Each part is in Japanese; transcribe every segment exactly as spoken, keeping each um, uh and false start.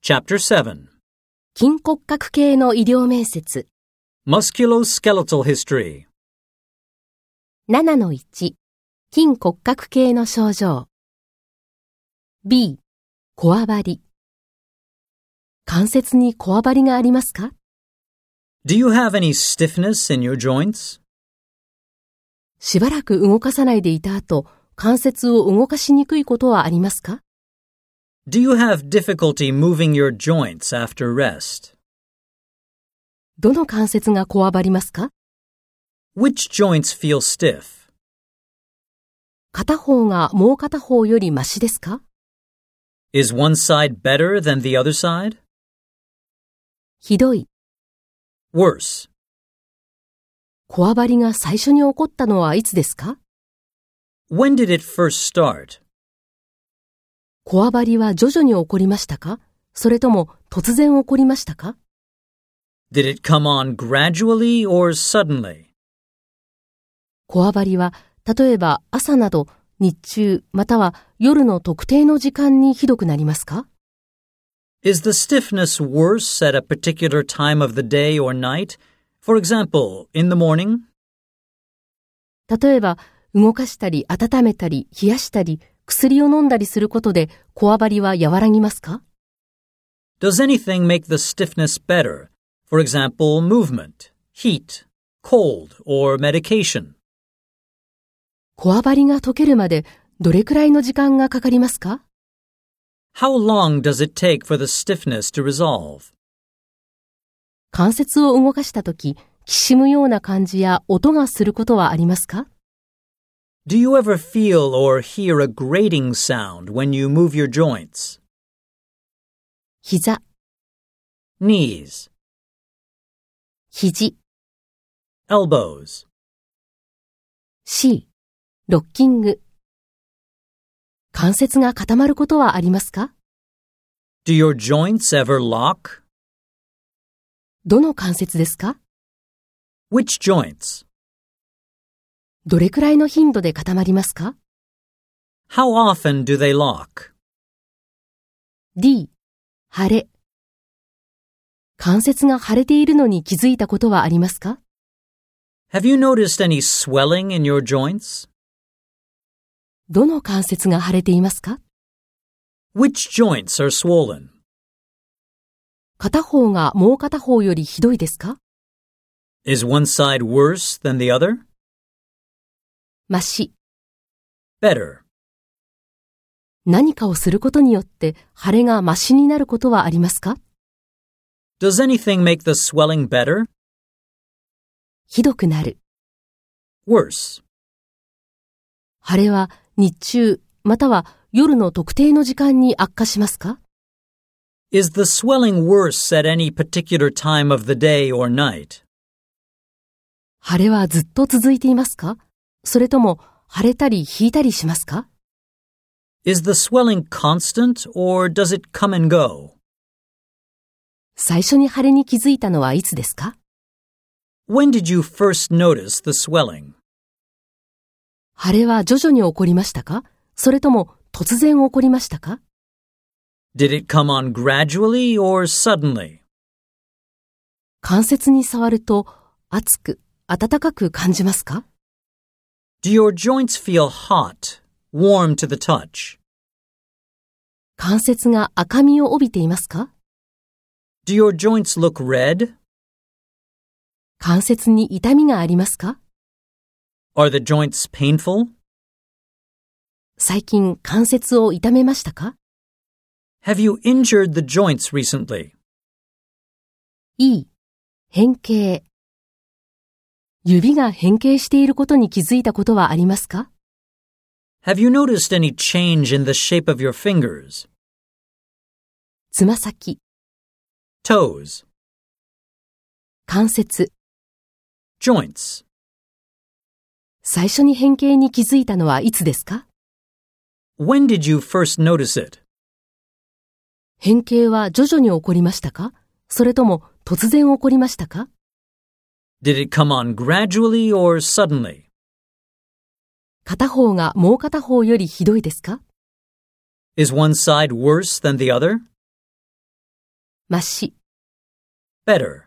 Chapter seven. 筋骨格系の医療面接 Musculoskeletal History. ななのいち 筋骨格系の症状 B こわばり関節にこわばりがありますか？ Do you have any stiffness in your joints? しばらく動かさないでいた後、関節を動かしにくいことはありますか？ Do you have difficulty moving your joints after rest? どの関節がこわばりますか？ Which joints feel stiff? 片方がもう片方よりマシですか？ Is one side better than the other side? ひどい。 Worse. こわばりが最初に起こったのはいつですか？ When did it first start? こわばりは徐々に起こりましたか？それとも突然起こりましたか？ Did it come on gradually or suddenly? こわばりは例えば朝など日中または夜の特定の時間にひどくなりますか？ Is the stiffness worse at a particular time of the day or night? For example, in the morning? 例えば動かしたり温めたり冷やしたり薬を飲んだりすることでこわばりは和らぎますか？ Does anything make the stiffness better? For example, movement, heat, cold, or medication? こわばりが解けるまでどれくらいの時間がかかりますか？ How long does it take for the stiffness to resolve? 関節を動かしたとき、きしむような感じや音がすることはありますか？ Do you ever feel or hear a grating sound when you move your joints? 膝、 Knees, 肘、 elbows, C、ロッキング。関節が固まることはありますか？ Do your joints ever lock? どの関節ですか？ Which joints? どれくらいの頻度で固まりますか？ How often do they lock? D、腫れ。関節が腫れているのに気づいたことはありますか？ Have you noticed any swelling in your joints? どの関節が腫れていますか？ Which joints are swollen? 片方がもう片方よりひどいですか？ Is one side worse than the other? マシ。 Better. 何かをすることによって腫れがマシになることはありますか？ Does anything make the swelling better? ひどくなる。 Worse. 腫れは日中または夜の特定の時間に悪化しますか？ Is the swelling worse at any particular time of the day or night? 腫れはずっと続いていますか？それとも腫れたり引いたりしますか？ Is the swelling constant or does it come and go? 最初に腫れに気づいたのはいつですか？ When did you first notice the swelling? 腫れは徐々に起こりましたか？それとも突然起こりましたか？ Did it come on gradually or suddenly? 関節に触ると熱く、温かく感じますか？ Do your joints feel hot, warm to the touch? 関節が赤みを帯びていますか？ Do your joints look red? 関節に痛みがありますか？ Are the joints painful? 最近関節を痛めましたか？ Have you injured the joints recently? E、変形。指が変形していることに気づいたことはありますか？ Have you noticed any change in the shape of your fingers? つま先、 Toes, 関節。 joints. 最初に変形に気づいたのはいつですか？ When did you first notice it? 変形は徐々に起こりましたか？それとも突然起こりましたか？ Did it come on gradually or suddenly? 片方がもう片方よりひどいですか？ Is one side worse than the other? まし。 better.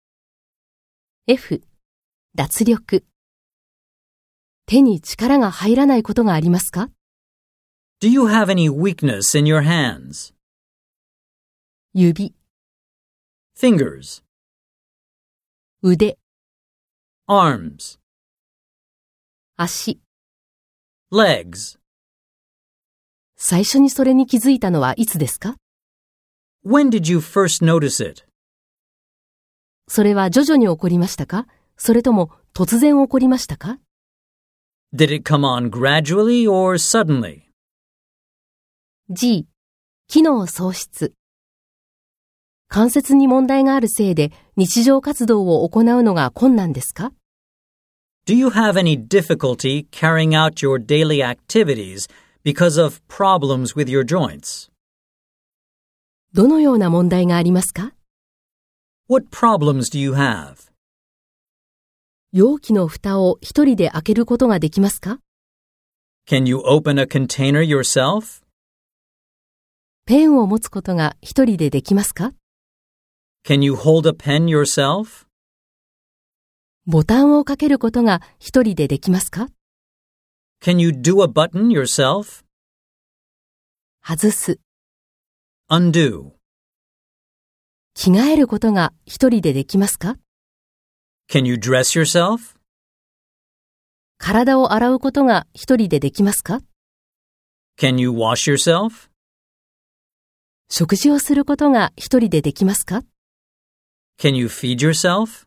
F、脱力。手に力が入らないことがありますか？ Do you have any weakness in your hands? 指、 Fingers, 腕、 arms, 足。 legs. 最初にそれに気づいたのはいつですか？ When did you first notice it? それは徐々に起こりましたか？それとも突然起こりましたか？ Did it come on gradually or suddenly? G、機能喪失。関節に問題があるせいで日常活動を行うのが困難ですか？ Do you have any difficulty carrying out your daily activities because of problems with your joints? どのような問題がありますか？ What problems do you have? 容器の蓋を一人で開けることができますか？ Can you open a container yourself? ペンを持つことが一人でできますか？ Can you hold a pen yourself? ボタンをかけることが一人でできますか？ Can you do a button yourself? 外す。 Undo. 着替えることが一人でできますか？ Can you dress yourself? 体を洗うことが一人でできますか？ Can you wash yourself? 食事をすることが一人でできますか？ Can you feed yourself?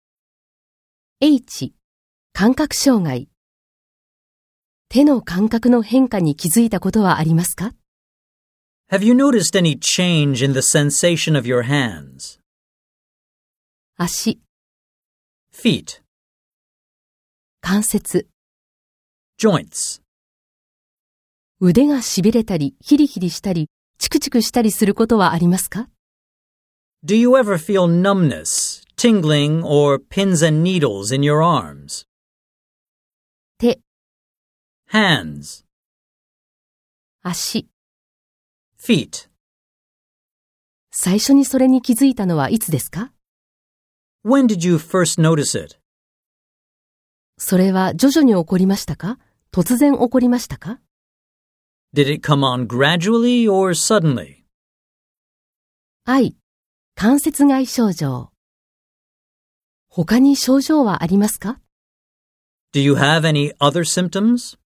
H、感覚障害。手の感覚の変化に気づいたことはありますか？ Have you noticed any change in the sensation of your hands? 足、 Feet, 関節。 joints. 腕がしびれたり、ヒリヒリしたり、チクチクしたりすることはありますか？ Do you ever feel numbness, tingling, or pins and needles in your arms? 手、 Hands, 足。 feet. 最初にそれに気づいたのはいつですか？ When did you first notice it? それは徐々に起こりましたか？突然起こりましたか？ Did it come on gradually or suddenly? I、関節外症状。他に症状はありますか？ Do you have any other symptoms?